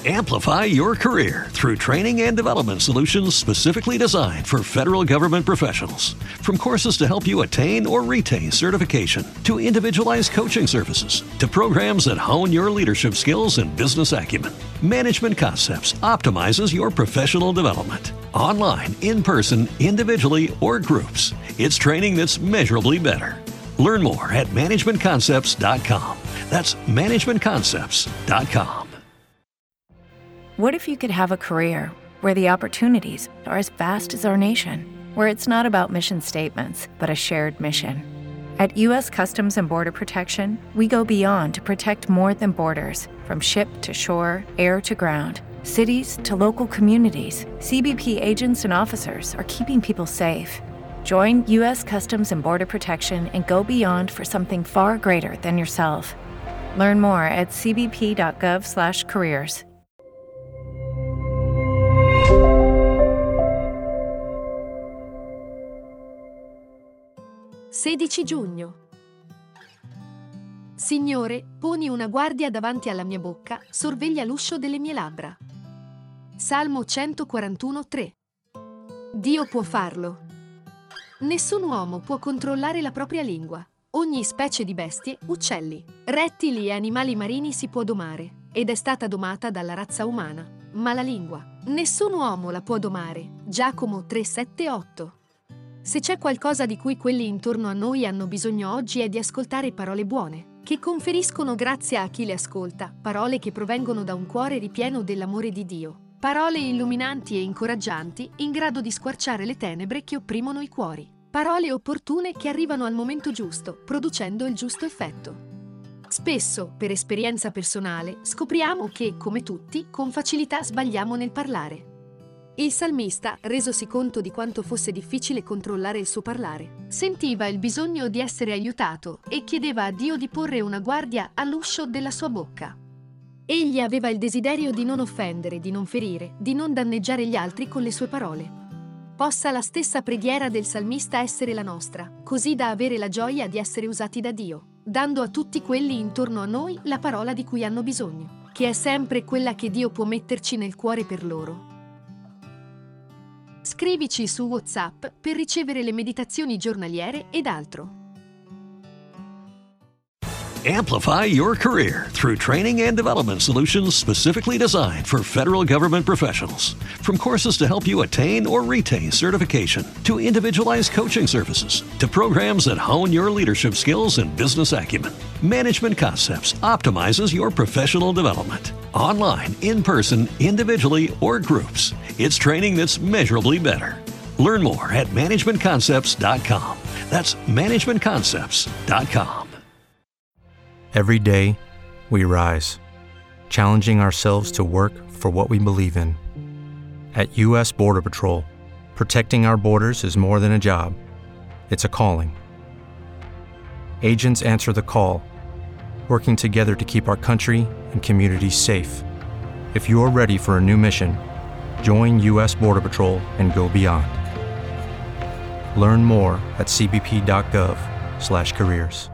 Amplify your career through training and development solutions specifically designed for federal government professionals. From courses to help you attain or retain certification, to individualized coaching services, to programs that hone your leadership skills and business acumen, Management Concepts optimizes your professional development. Online, in person, individually, or groups, it's training that's measurably better. Learn more at managementconcepts.com. That's managementconcepts.com. What if you could have a career where the opportunities are as vast as our nation, where it's not about mission statements, but a shared mission? At U.S. Customs and Border Protection, we go beyond to protect more than borders. From ship to shore, air to ground, cities to local communities, CBP agents and officers are keeping people safe. Join U.S. Customs and Border Protection and go beyond for something far greater than yourself. Learn more at cbp.gov/careers. 16 giugno. Signore, poni una guardia davanti alla mia bocca, sorveglia l'uscio delle mie labbra. Salmo 141:3. Dio può farlo. Nessun uomo può controllare la propria lingua. Ogni specie di bestie, uccelli, rettili e animali marini si può domare, ed è stata domata dalla razza umana. Ma la lingua, nessun uomo la può domare. Giacomo 3:7-8. Se c'è qualcosa di cui quelli intorno a noi hanno bisogno oggi è di ascoltare parole buone, che conferiscono grazia a chi le ascolta, parole che provengono da un cuore ripieno dell'amore di Dio, parole illuminanti e incoraggianti in grado di squarciare le tenebre che opprimono i cuori, parole opportune che arrivano al momento giusto, producendo il giusto effetto. Spesso, per esperienza personale, scopriamo che, come tutti, con facilità sbagliamo nel parlare. Il salmista, resosi conto di quanto fosse difficile controllare il suo parlare, sentiva il bisogno di essere aiutato e chiedeva a Dio di porre una guardia all'uscio della sua bocca. Egli aveva il desiderio di non offendere, di non ferire, di non danneggiare gli altri con le sue parole. Possa la stessa preghiera del salmista essere la nostra, così da avere la gioia di essere usati da Dio, dando a tutti quelli intorno a noi la parola di cui hanno bisogno, che è sempre quella che Dio può metterci nel cuore per loro. Scrivici su WhatsApp per ricevere le meditazioni giornaliere ed altro. Amplify your career through training and development solutions specifically designed for federal government professionals. From courses to help you attain or retain certification, to individualized coaching services, to programs that hone your leadership skills and business acumen, Management Concepts optimizes your professional development. Online, in person, individually, or groups, it's training that's measurably better. Learn more at managementconcepts.com. That's managementconcepts.com. Every day, we rise, challenging ourselves to work for what we believe in. At U.S. Border Patrol, protecting our borders is more than a job. It's a calling. Agents answer the call, working together to keep our country and communities safe. If you're ready for a new mission, join U.S. Border Patrol and go beyond. Learn more at cbp.gov/careers.